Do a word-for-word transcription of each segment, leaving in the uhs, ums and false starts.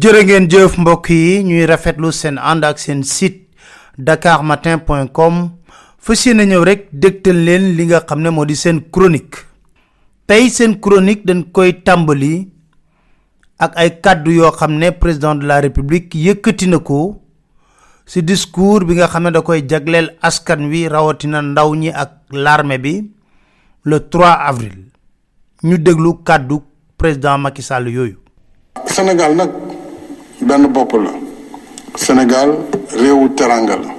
jërë ngeen jëf mbokk yi ñuy rafetlu seen ànd ak seen site dakar matin point com fas yéene ñëw rek dégtal leen li nga xam ne moo di seen chronique tey seen chronique dañ koy tàmbali ak ay kàddu yoo xam ne président de la république yëkkati na ko ci discours bi nga xam ne da koy jagleel askan wi rawatina ndaw ñi ak l'armée bi le trois avril ñu déglu kàddu président Macky Sall yooyu. Sénégal nag benn bopp la Sénégal réewu teranga la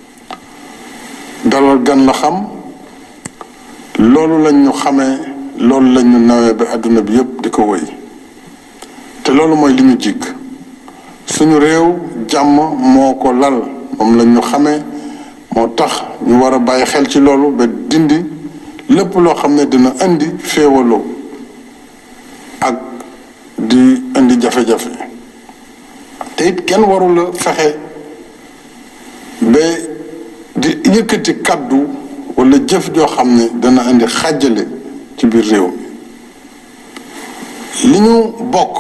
dalal gan la xam loolu lañ ñu xamee loolu lañ ñu nawee ba àdduna bi yépp di ko wëy te loolu mooy li ñu jikk suñu réew jàmm moo ko lal moom lañ ñu xamee moo tax ñu war a bàyyi xel ci loolu ba dindi lépp loo xam ne dina indi féewaloo ak di indi jafe-jafe te it kenn warula fexe ba di yëkkati kàddu wala jëf joo xam ne dana indi xàjjale ci biir réew mi li ñu bokk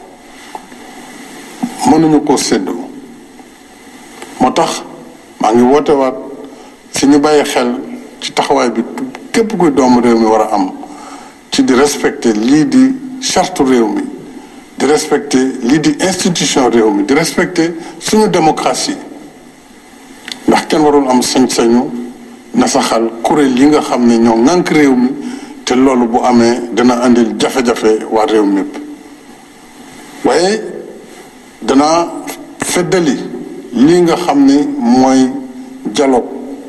mënuñu ko séddoo moo tax maa ngi woote waat si ñu bàyyi xel ci taxawaay bi képp kuy doomu réew mi war a am ci di respecter lii di charte réew mi di respecter lii di institution réew mi di respecter suñu démocratie ndax kenn warul am sañ-sañu nasaxal kuréel yi nga xam ne ñoo ŋànk réew mi te loolu bu amee dana andil jafe-jafe waa réew mépp waaye dana feddali lii nga xam ne mooy dialogue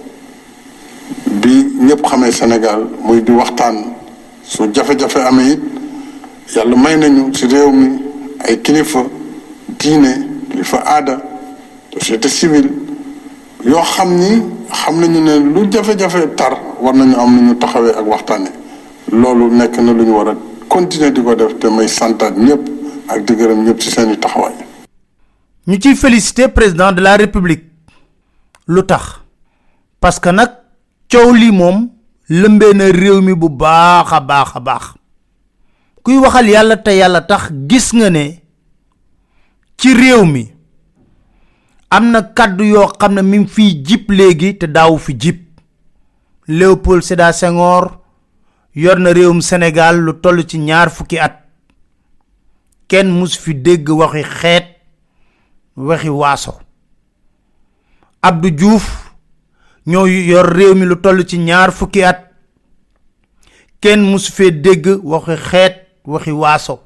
bi ñëpp xamee Sénégal muy di waxtaan su jafe-jafe amee it yàlla may nañu ci réew mi ay kilifa diine kilifa aada société civile yoo xam ni xam nañu ne lu jafe-jafe tar war nañu am nu ñu taxawee ak waxtaane loolu nekk na lu ñu war a continuer di ko def te may santaat ñëpp ak di gërëm ñëpp ci seeni taxawaay. ñu ciy féliciter président de la république lu tax parce que nag coow lii moom lëmbee na réew mi bu baax a baax a baax kuy waxal yàlla te yàlla tax gis nga ne ci réew mi am na kàddu yoo xam ne mi ngi fiy jib léegi te daawu fi jib Léopold Sédar Senghor yor na réewum Sénégal lu toll ci ñaar fukki at kenn mus fi dégg waxi xeet waxi waaso Abdou Diouf ñoo yor réew mi lu toll ci ñaar fukki at kenn mus fee dégg waxi xeet waxi waaso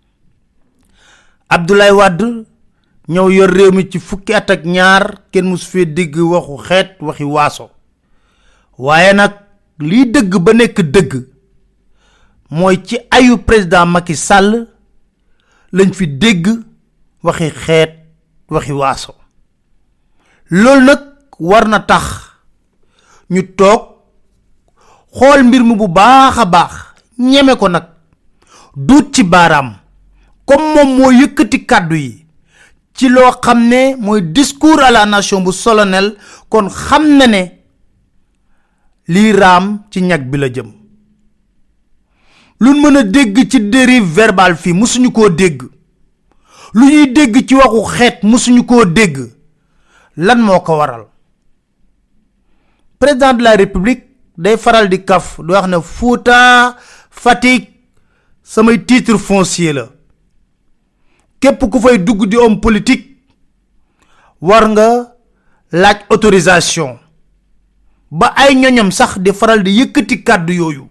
Abdoulaye Wade ñoo yor réew mi ci fukki at ak ñaar kenn mus fee dégg waxu xeet waxi waaso waaye nag liy dëgg ba nekk dëgg mooy ci ayu président Macky Sall lañ fi dégg waxi xeet waxi waaso loolu nag war na tax ñu toog xool mbir mi bu baax a baax ñeme ko nag duut ci baaraam comme moom moo yëkkati kàddu yi ci loo xam ne mooy discours à la nation bu solennel kon xam na ne lii raam ci ñag bi la jëm luñ mën a dégg ci dérive verbale fii musuñu koo dégg lu ñuy dégg ci waxu xeet musuñu koo dégg lan moo ko waral président de la république day faral di kaf di wax ne Fouta Fatick samay titre foncier la képp ku fay dugg di homme politique war nga laaj autorisation ba ay ñoñam sax di faral di yëkkati kàddu yooyu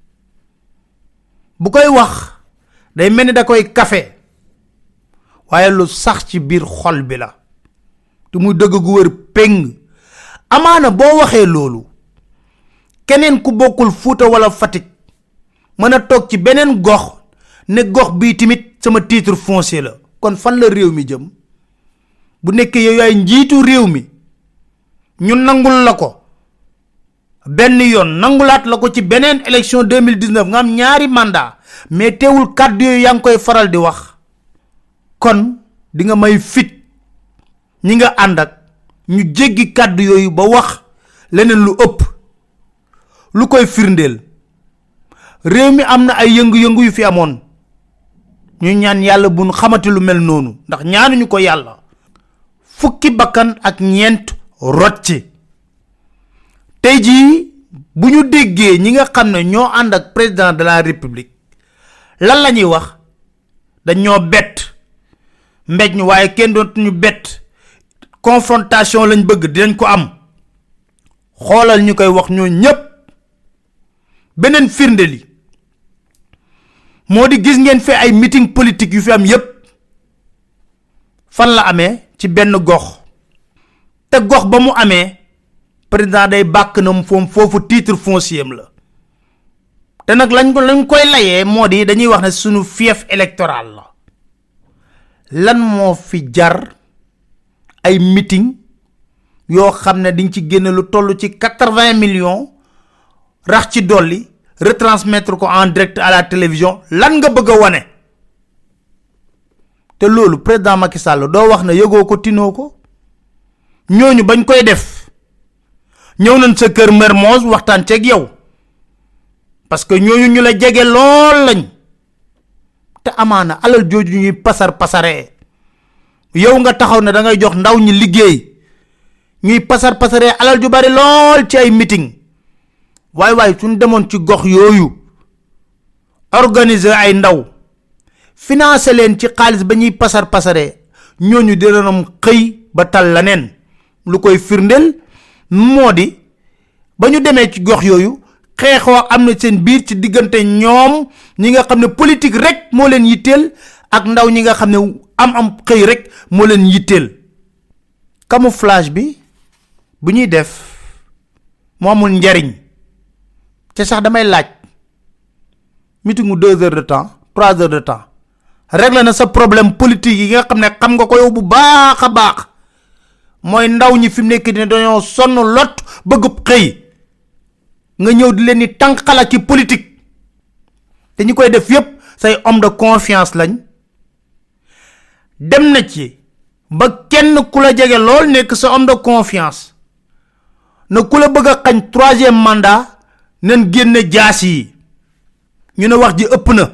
bu koy wax day mel ni da koy kafe waaye lu sax ci biir xol bi la te muy dëgg gu wër péng amaana boo waxee loolu keneen ku bokkul Fuuta wala Fatick mën a toog ci beneen gox ne gox bii tamit sama titre foncier la kon fan la réew mi jëm bu nekkee yow yaay njiitu réew mi ñu nangul la ko benn yoon nangulaat la ko ci beneen élection deux mille dix-neuf nga am ñaari mandat mais teewul kàddu yooyu yaa ngi koy faral di wax kon di nga may fit ñi nga ànd ak ñu jéggi kàddu yooyu ba wax leneen lu ëpp lu koy firndeel réew mi am na ay yëngu-yëngu yu fi amoon ñu ñaan yàlla buñ xamati lu mel noonu ndax ñaanuñu ko yàlla fukki bakkan ak ñeent rot ci tey jii bu ñu déggee ñi nga xam ne ñoo ànd ak président de la république lan la ñuy wax dañ ñoo bett mbéj ñu waaye kenn doon ñu bett confrontation lañ bëgg dinañ ko am xoolal ñu koy wax ñoo ñépp beneen firnde li moo di gis ngeen fi ay meeting politique yu fi am yépp fan la amee ci benn gox te gox ba mu amee président day bàkk na foom foofu titre foncier la te nag lañ ko lañ koy layee moo di dañuy wax ne sunu fief électoral la lan moo fi jar ay meeting yoo xam ne diñ ci génne lu toll ci quatre-vingts millions rax ci dolli retransmettre ko en direct à la télévision lan nga bëgg a wane te loolu président Macky Sall doo wax ne yëgoo ko tinoo ko ñooñu bañ koy def ñëw nañ sa kër Mermoz waxtaan ceeg yow parce que ñooñu ñu la jege lool lañ te amaana alal jooju ñuy pasar pasaree yow nga taxaw ne da ngay jox ndaw ñi liggéey ñuy pasar pasaree alal ju bari lool ci ay meeting waay waay suñ demoon ci gox yooyu organiser ay ndaw financer leen ci xaalis ba ñuy pasar pasaree ñooñu dinañu xëy ba tal leneen lu koy firndeel moo di ba ñu demee ci gox yooyu xeexoo am na seen biir ci diggante ñoom ñi nga xam ne politique rek moo leen yitteel ak ndaw ñi nga xam ne am am xëy rek moo leen yitteel camouflage bi bu ñuy def moo amul njariñ te sax damay laaj meetingu deux heures de temps trois heures de temps réglé na sa problème politique yi nga xam ne xam nga ko yow bu baax a baax mooy ndaw ñi fi mu nekk ne dañoo sonn lot bëgg xëy nga ñëw di leen ni tànqala ci politique te ñi koy def yépp say homme de confiance lañ dem na ci ba kenn ku la jege lool nekk sa homme de confiance na ku la bëgg a xañ troisième mandat nen génne jaas yi ñu ne wax ji ëpp na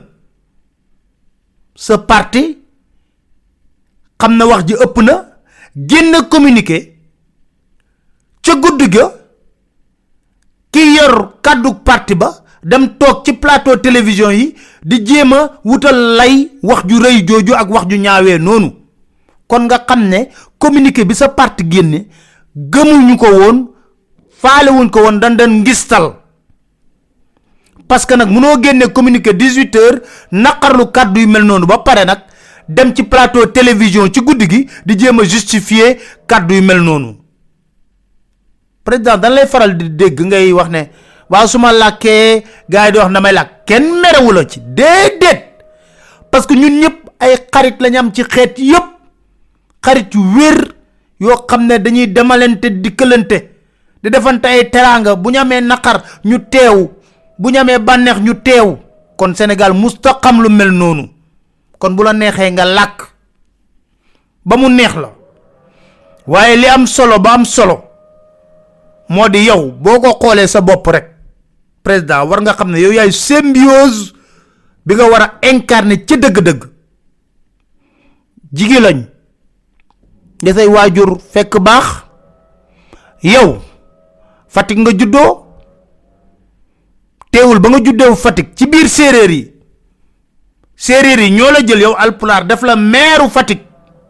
sa parti xam na wax ji ëpp na génne communiqué ca guddi ga ki yor kàddu parti ba dem toog ci plateau télévision yi di jéem a wutal lay wax ju rëy jooju ak wax ju ñaawee noonu kon nga xam ne communiqué bi sa parti génne gëmuñu ko woon faalewuñ ko woon dan dan ngistal parce que nag mënoo génne communiqué dix-huit heures naqarlu kàddu yu mel noonu ba pare nag dem ci plateau télévision ci guddi gi di jéem a justifier kàddu yu mel noonu président dañ lay faral di dégg ngay wax ne waaw su ma làkkee gars yi di wax damay làkk kenn merewu la ci déedéet parce que ñun ñëpp ay xarit lañ am ci xeet yëpp xarit yu wér yoo xam ne dañuy demalante dikkalante di defante ay teraanga bu ñu amee naqar ñu teew bu ñu amee bànneex ñu teew kon Sénégal musta xam lu mel noonu kon bu la neexee nga làkk ba mu neex la waaye li am solo ba am solo moo di yow boo ko xoolee sa bopp rek président war nga xam ne yow yaay symbiose bi nga war a incarner ci dëgg-dëgg jigéen lañ nga say waajur fekk baax yow Fatick nga juddoo teewul ba nga juddoo Fatick ci biir séeréer yi séeréer yi ñoo la jël yow alpulaar def la meeru Fatick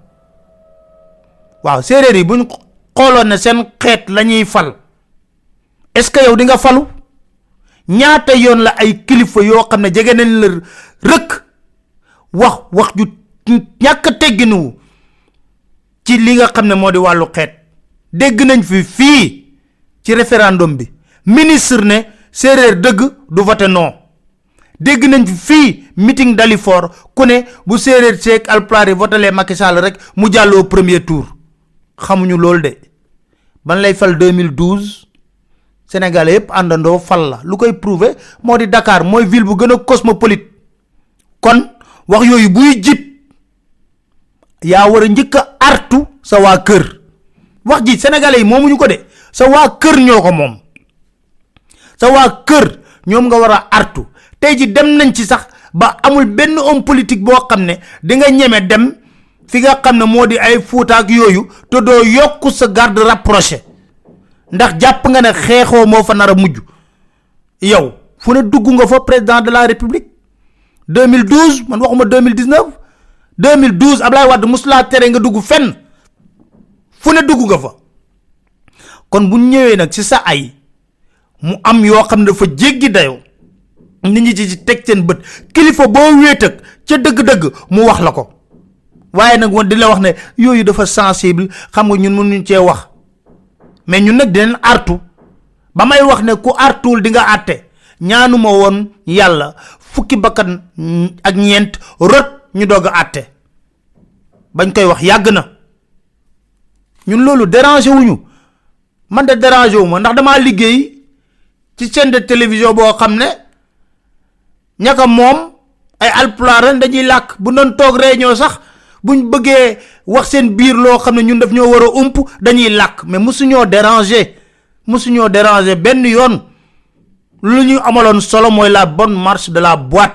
waaw séeréer yi buñ xooloon ne seen xeet la ñuy fal est-ce que yow di nga falu ñaata yoon la ay kilifa yoo xam ne jege nañ la rëkk wax wax ju ñàkk tegginu ci li nga xam ne moo di wàllu xeet dégg nañ fi fii ci référendum bi ministre ne séeréer dëgg du voté non dégg nañ fi fii meeting Dalifort ku ne bu séeréer seeg alpulaar yi votelee Macky Sall rek mu jàlloo premier tour xamuñu loolu de ban lay fal deux mille douze Sénégalais yépp àndandoo fal la lu koy prouver moo di Dakar mooy ville bu gën a cosmopolite kon wax yooyu buy jib yaa war a njëkk a artu sa waa kër wax ji Sénégalais yi moomuñu ko de sa waa kër ñoo ko moom sa waa kër ñoom nga war a artu tey ji dem nañ ci sax ba amul benn homme politique boo xam ne di nga ñeme dem fi nga xam ne moo di ay Fuuta ak yooyu te doo yokku sa garde rapproché ndax jàpp nga ne xeexoo moo fa nar a mujj yow fu ne dugg nga fa président de la république deux mille douze man waxuma deux mille dix-neuf deux mille douze Ablaye Wade musula tere nga dugg fenn fu ne dugg nga fa kon bu ñëwee nag ci sa ay mu am yoo xam ne dafa jéggi dayoo nit ñi ci teg seen bët kilifa boo wéet ak ca dëgg-dëgg mu wax la ko waaye nag woon di la wax ne yooyu dafa sensible xam nga ñun mënuñ cee wax mais ñun nag dinañ artu ba may wax ne ku artuwul di nga àtte ñaanuma woon yàlla fukki bakkan ak ñeent rot ñu doog a àtte bañ koy wax yàgg na ñun loolu dérangé wuñu man de dérangé wu ma ndax damaa liggéey ci chaîne de télévision boo xam ne ñaka moom ay alpulaar dañuy làkk bu doon toog réunion sax buñ bëggee wax seen biir loo xam ne ñun daf ñoo war a ump dañuy làkk mais mosuñoo déranger mosuñoo déranger benn yoon lu ñu amaloon solo mooy la bonne marche de la boîte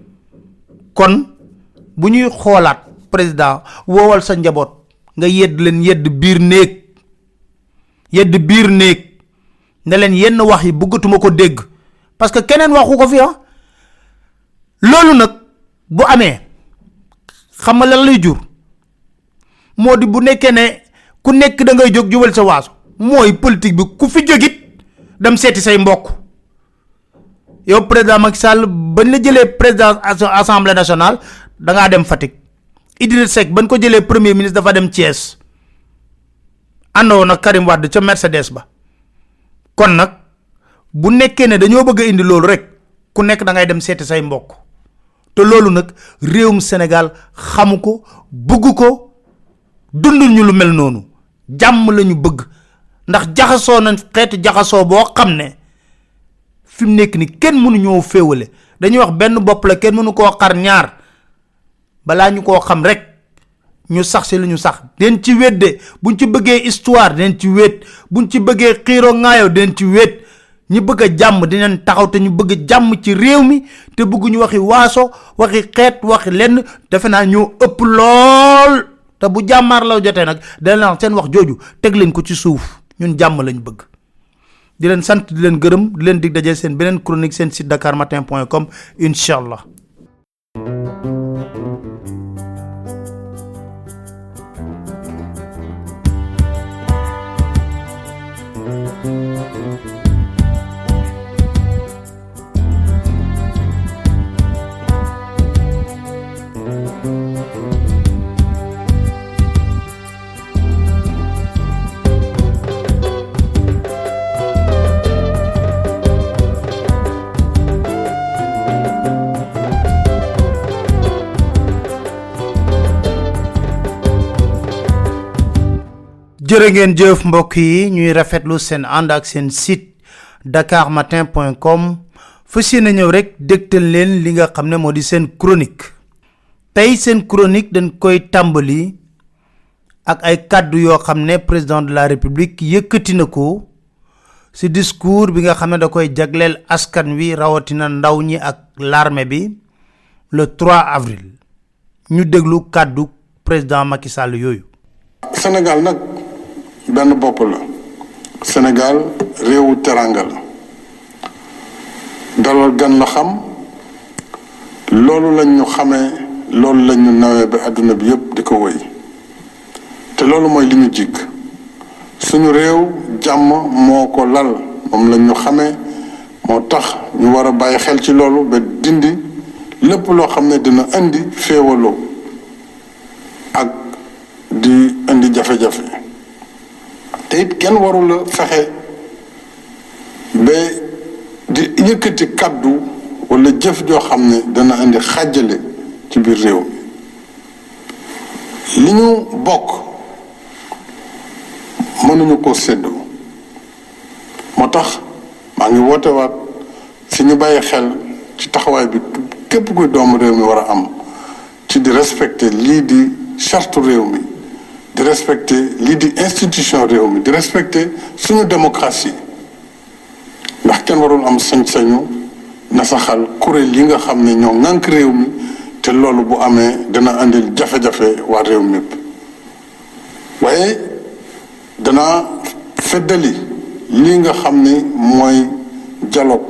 kon bu ñuy xoolaat président woowal sa njaboot nga yedd leen yedd biir néeg yedd biir néeg ne leen yenn wax yi bëggatuma ko dégg parce que keneen waxu ko fi ah loolu nag bu amee xam nga lan lay jur moo di bu nekkee ne ku nekk da ngay jóg jubal sa waaso mooy politique bi ku fi jógit dem seeti say mbokk yow président Macky Sall bañ la jëlee président assemblée nationale da ngaa dem Fatick Idriss Seck bañ ko jëlee premier ministre dafa dem Thiès àndoo nag Karim Wade ca Mercedes ba kon nag bu nekkee ne dañoo bëgg a indi loolu rek ku nekk da ngay dem seeti say mbokk te loolu nag réewum Sénégal xamu ko bëgg ko dundul ñu lu mel noonu jàmm la ñu bëgg ndax jaxasoo nañ xeetu jaxasoo boo xam ne fi mu nekk ni kenn mënu ñoo féewale dañuy wax benn bopp la kenn mënu koo xar ñaar balaa ñu koo xam rek ñu sax si lu ñu sax den ci wedde buñ ci bëggee histoire den ci wét buñ ci bëggee xiiroo ŋaayoo den ci wét ñi bëgg a jàmm dinañ taxaw te ñu bëgg jàmm ci réew mi te bëgg ñu waxi waaso waxi xeet waxi lenn defe naa ñoo ëpp lool te bu jàmmaar la jotee nag dana seen wax jooju teg leen ko ci suuf ñun jàmm lañ bëgg di leen sant di leen gërëm di leen dig daje seen beneen chronique seen site dakar matin point com incha allah. jërë ngeen jëf mbokk yi ñuy rafetlu seen ànd ak seen site dakar matin point com fas yéene ñëw rek dégtal leen li nga xam ne moo di seen chronique tey seen chronique dañ koy tàmbali ak ay kàddu yoo xam ne président de la république yëkkati na ko ci discours bi nga xam ne da koy jagleel askan wi rawatina ndaw ñi ak l'armée bi le trois avril ñu déglu kàddu président Macky Sall yooyu. Sénégal nag benn bopp la Sénégal réewu teranga la dalal gan la xam loolu lañ ñu xamee loolu lañ ñu nawee ba àdduna bi yépp di ko wëy te loolu mooy li ñu jikk suñu réew jàmm moo ko lal moom lañ ñu xamee moo tax ñu war a bàyyi xel ci loolu ba dindi lépp loo xam ne dina indi féewaloo ak di indi jafe-jafe te it kenn warula fexe ba di yëkkati kaddu wala jëf joo xam ne dana indi xàjjale ci biir réew mi li ñu bokk mënuñu ko séddoo moo tax maa ngi woote waat si ñu bàyyi xel ci taxawaay bi képp kuy doomu réew mi war a am ci di respecter lii di charte réew mi di respecter lii di institution réew mi di respecter suñu démocratie ndax kenn warul am sañ-sañu nasaxal kuréel yi nga xam ne ñoo ŋànk réew mi te loolu bu amee dana andil jafe-jafe waa réew mépp waaye dana feddali lii nga xam ni mooy dialogue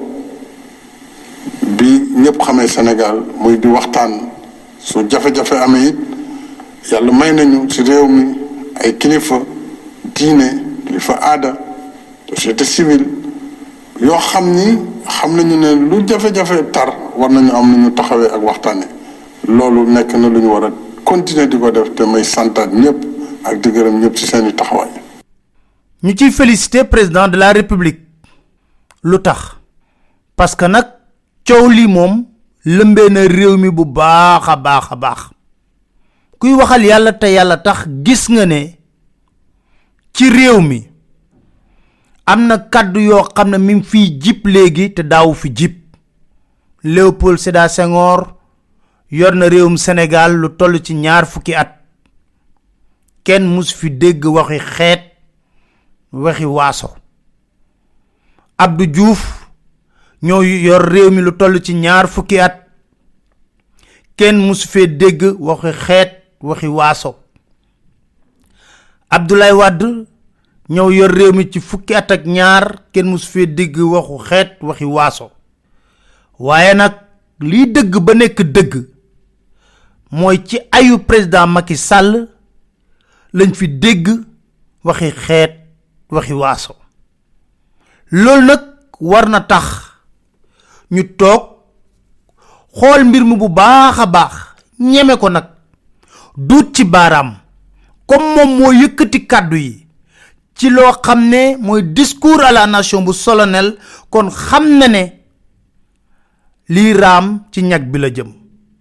bi ñëpp xamee Sénégal muy di waxtaan su jafe-jafe amee it yàlla may nañu ci réew mi ay kilifa diine kilifa aada société civile yoo xam ni xam nañu ne lu jafe-jafe tar war nañu am nu ñu taxawee ak waxtaane loolu nekk na lu ñu war a continuer di ko def te may santaat ñëpp ak di gërëm ñëpp ci seeni taxawaay. ñu ciy féliciter président de la république lu tax parce que nag coow lii moom lëmbee na réew mi bu baax a baax a baax kuy waxal yàlla te yàlla tax gis nga ne ci réew mi am na kàddu yoo xam ne mi ngi fiy jib léegi te daawu fi jib Léopold Sédar Senghor yor na réewum Sénégal lu toll ci ñaar fukki at kenn mus fi dégg waxi xeet waxi waaso Abdou Diouf ñoo yor réew mi lu toll ci ñaar fukki at kenn mus fee dégg waxi xeet waxi waaso Abdoulaye Wade ñoo yor réew mi ci fukki at ak ñaar kenn mus fee dégg waxu xeet waxi waaso waaye nag liy dëgg ba nekk dëgg mooy ci ayu président Macky Sall lañ fi dégg waxi xeet waxi waaso loolu nag war na tax ñu toog xool mbir mi bu baax a baax ñeme ko nag duut ci baaraam comme moom moo yëkkati kàddu yi ci loo xam ne mooy discours à la nation bu solennel kon xam na ne lii raam ci ñag bi la jëm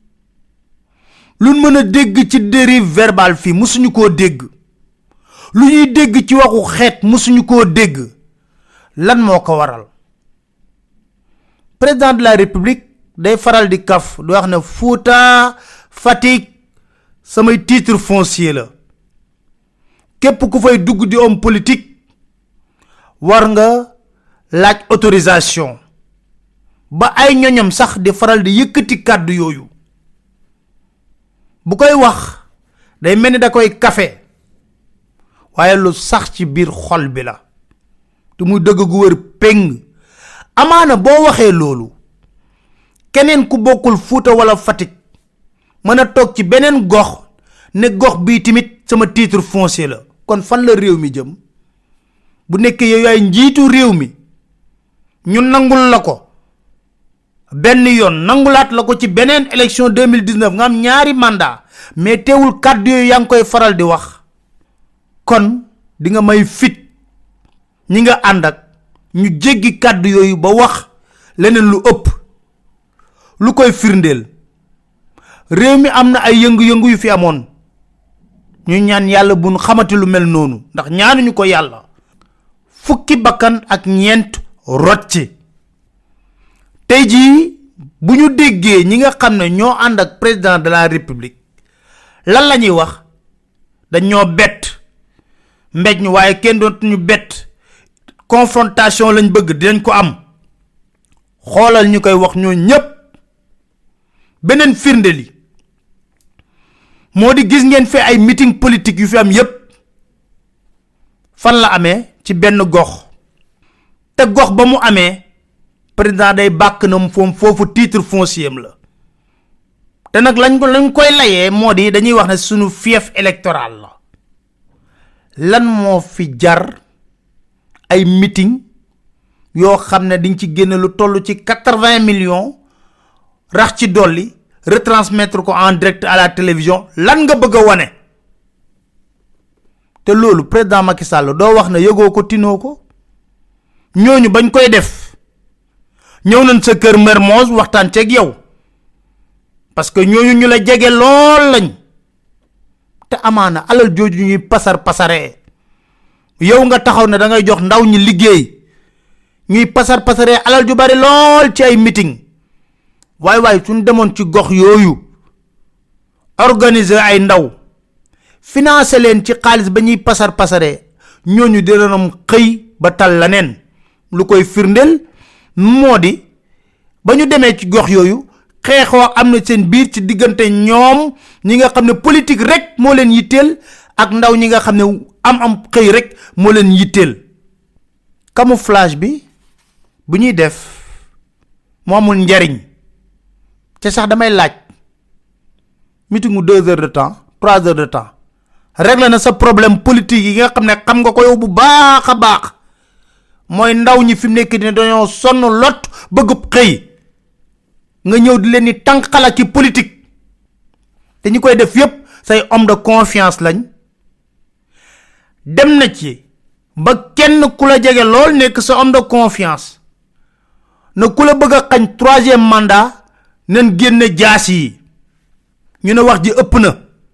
lu mën a dégg ci dérive verbale fii musuñu koo dégg lu ñuy dégg ci waxu xeet musuñu koo dégg lan moo ko waral président de la république day faral di kaf di wax ne Fouta Fatick samay titre foncier la képp ku fay dugg di homme politique war nga laaj autorisation ba ay ñoñam sax di faral di yëkkati kàddu yooyu bu koy wax day mel ni da koy kafe waaye lu sax ci biir xol bi la te muy dëgg gu wër péng amaana boo waxee loolu keneen ku bokkul Fuuta wala Fatick mën a toog ci beneen gox ne gox bii tamit sama titre foncier la kon fan la réew mi jëm bu nekkee yow yaay njiitu réew mi ñu nangul la ko benn yoon nangulaat la ko ci beneen élection deux mille dix-neuf nga am ñaari mandat mais teewul kàddu yooyu yaa ngi koy faral di wax kon di nga may fit ñi nga ànd ak ñu jéggi kàddu yooyu ba wax leneen lu ëpp lu koy firndeel réew mi am na ay yëngu-yëngu yu fi amoon ñu ñaan yàlla bu ñu xamati lu mel noonu ndax ñaanuñu ko yàlla fukki bakkan ak ñeent rot ci tey jii bu ñu déggee ñi nga xam ne ñoo ànd ak président de la république lan la ñuy wax dañoo bett mbéj ñu waaye kenn dootuñu bett confrontation lañ bëgg dinañ ko am xoolal ñu koy wax ñoo ñépp beneen firnde li moo di gis ngeen fi ay meeting politique yu fi am yépp fan la amee ci benn gox te gox ba mu amee président day bàkk na foom foofu titre foncier la te nag lañ ko lañ koy layee moo di dañuy wax ne sunu fief électoral la lan moo fi jar ay meeting yoo xam ne diñ ci génne lu toll ci quatre-vingts millions rax ci dolli retransmettre ko en direct à la télévision lan nga bëgg a wane te loolu président Macky Sall doo wax ne yëgoo ko tinoo ko ñooñu bañ koy def ñëw nañ sa kër Mermoz waxtaan ceeg yow parce que ñooñu ñu la jege lool lañ te amaana alal jooju ñuy pasar pasaree yow nga taxaw ne da ngay jox ndaw ñi liggéey ñuy pasar pasaree alal ju bari lool ci ay meeting waay waay suñ demoon ci gox yooyu organiser ay ndaw financer leen ci xaalis ba ñuy pasar pasaree ñooñu dinañu xëy ba tal la neen lu koy firndeel moo di bañu démé ci gox yoyu xéxo amna seen biir ci digënté ñoom ñi nga xamné politique rek mo leen yittel ak ndaw ñi nga xamné am am xey rek mo leen yittel camouflage bi bu ñuy def mo amul njariñ ci sax damay laaj meetingu deux heures de temps trois heures de temps régler na sa problème politique yi nga xamné xam nga ko yow bu baaxa baax moy ndaw ñi fim nek ni dañoo sonn lot bëgg xey nga ñëw di leen ni tankala ci politique té ñi koy def yépp say homme de confiance lañ dem na ci ba kenn kula jégé lool nek sa homme de confiance na kula bëgg xagn troisième mandat nañ génné jaas yi ñu ne wax ji ëpp na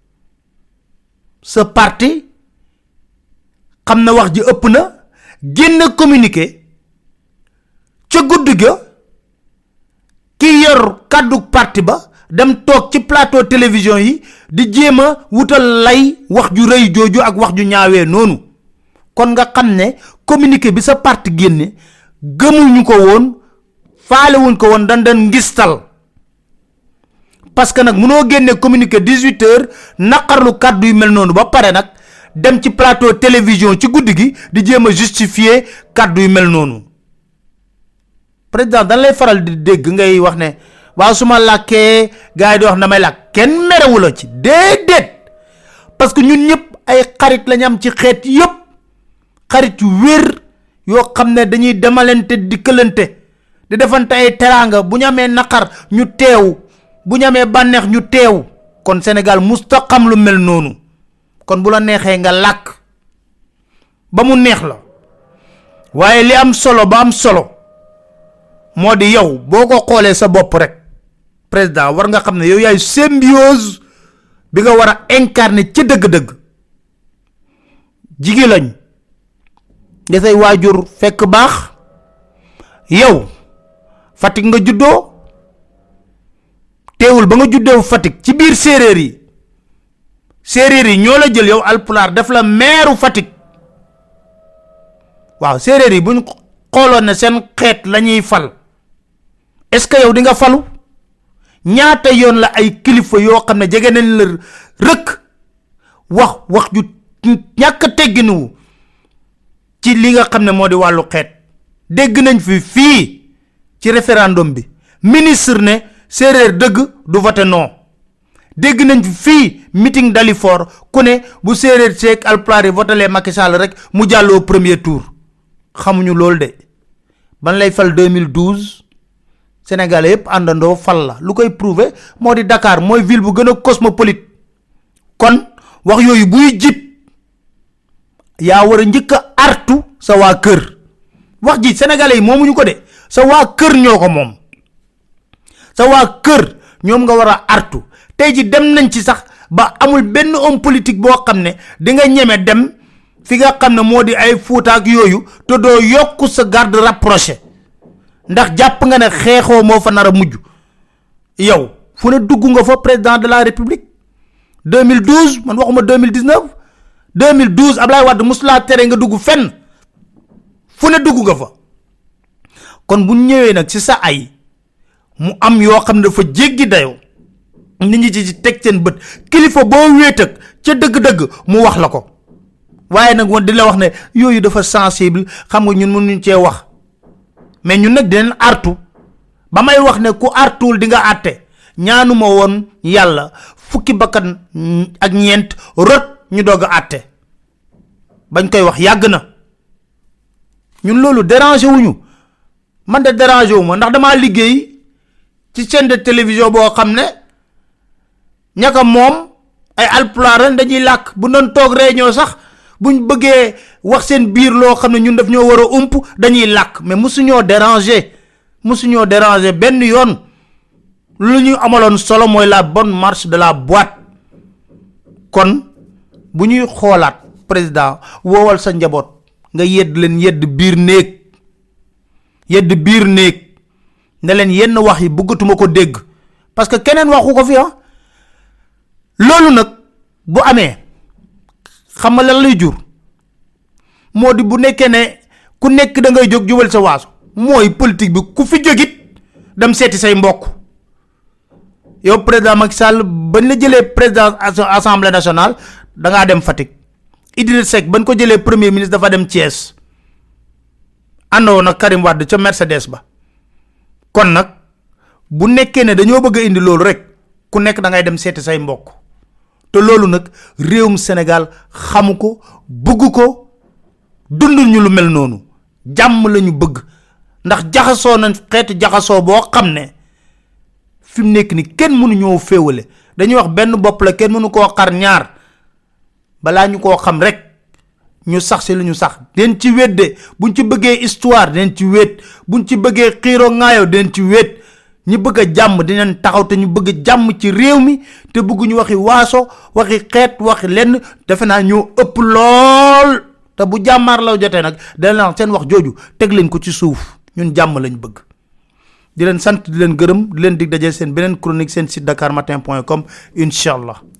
sa parti xam na wax ji ëpp na génné communiqué ci guddu ga ki yor kaddu parti ba dem tok ci plateau télévision yi di jéma wutal lay wax ju reuy joju ak wax ju ñaawé nonu kon nga xamné communiqué bi sa parti génné gëmuñu ko won faalé wuñ ko won dan dan ngistal parce que nak mëno génné communiqué dix-huit heures nakarlu kaddu yu mel nonu ba paré nak dem ci plateau télévision ci guddigi di jéma justifier kaddu yu mel nonu président dan lay faral di dégg ngay wax né wa suma laké gaay di wax damay lak ken méréwu la ci dédét parce que ñun ñëpp ay xarit lañ am ci xéet yépp xarit yu wër yo xamné dañuy demalante di këlante di defante ay teranga bu ñamé nakar ñu téw bu ñamé banex ñu téw kon Sénégal mustaqam lu mel nonu kon bu la nexé nga lak ba mu neex la waye li am solo ba am solo modi yow boko xolé sa bop rek président war nga xamné yow yaay symbiose bi nga wara incarner ci deug deug jigi lañ da say wajur fekk bax yow Fatick nga juddo téwul ba nga juddo Fatick ci biir séréer yi séréer yi ñoo la jël yow alpular def la maire Fatick waaw séréer yi buñ xolone sen xet lañuy fal est-ce que yow di nga falu ñaata yoon la ay kilifa yo xamne jégué nañ la rek wax wax ju ñak tegginu ci li nga xamne modi walu xet dégg nañ fi fi ci référendum bi ministre ne séréer deug du voter non dégg nañ fi fi meeting d'Alifor ku ne bu séréer sék alpulaar voter Macky Sall rek mu jallo premier tour xamuñu lol de ban lay fal deux mille douze Sénégalais yépp andando fal la lu koy prouver modi Dakar moy ville bu gëna cosmopolite kon wax yoyu buy jip ya wara ñëk artu sa wa kër wax ji Sénégalais momuñu ko de sa wa kër ñoko mom sa wa kër ñom nga wara artu tay ji dem nañ ci sax ba amul benn homme politique bo xamné di nga ñëmé dem fi nga xamné modi ay Fouta ak yoyu to do yokku sa garde rapproché ndax japp nga ne xexo mo fa nara mujj yow fu ne dugg nga fa président de la république deux mille douze man waxuma deux mille dix-neuf deux mille douze Ablaye Wade musla téré nga dugg fenn fu ne dugg nga fa kon bu ñëwé nak ci sa ay mu am yo xamne dafa jéggi dayo nit ñi ci tek seen bëtt kilifa bo wét ak ci dëgg dëgg mu wax la ko waye nak won di la wax ne yoyu dafa sensible xam nga ñun mënuñ ci wax mais ñun nak dinañ artu ba may wax ne ku artul di nga atté ñaanuma won yalla fukki bakkan ak ñent rot ñu doga atté bañ koy wax yag na ñun lolu déranger wuñu man de déranger wuma ndax dama liggéey ci chaîne de télévision bo xamné ñaka mom ay alpulaar dañuy lak bu non tok réunion sax buñ bëggé wax seen biir lo xamné ñun daf ñoo wara ump dañuy lak mais musu ñoo déranger musu ñoo déranger ben yoon lu ñu amalon solo moy la bonne marche de la boîte kon buñuy xolaat président wowal sa njabot nga yedd leen yedd biir neek yedd biir neek ne leen yenn wax yi bëggatuma ko dégg parce que keneen waxu ko fi ah lolu nak bu amé xam nga lan lay jur modi bu nekké né ku nekk da ngay jog jubal sa waasu moy politique bi ku fi jogit dem seeti say mbokk yow président Macky Sall bañ la jëlee président assemblée nationale da ngaa dem Fatick Idriss Seck bañ ko jëlee premier ministre dafa dem Thiès àndoo nag Karim Wade ca Mercedes ba kon nag bu nekkee ne dañoo bëgg a indi loolu rek ku nekk da ngay dem seeti say mbokk te loolu nag réewum Sénégal xamu ko bëgg ko dundul ñu lu mel noonu jàmm lañu bëgg ndax jaxasoo nañ xeetu jaxasoo boo xam ne fi mu nekk ni kenn mënu ñoo féewale dañuy wax benn bopp la kenn mënu koo xar ñaar balaa ñu koo xam rek ñu sax si lu ñu sax den ci wedde buñ ci bëggee histoire den ci wét buñ ci bëggee xiiroo ŋaayoo den ci wét ñi bëgg a jàmm dinañ taxaw te ñu bëgg jàmm ci réew mi te bëgg ñu waxi waaso waxi xeet waxi lenn defe naa ñoo ëpp lool te bu jàmmaar law jotee nag dana seen wax jooju teg leen ko ci suuf ñun jàmm lañ bëgg di leen sant di leen gërëm di leen dig daje seen beneen chronique seen site dakar matin point com incha allah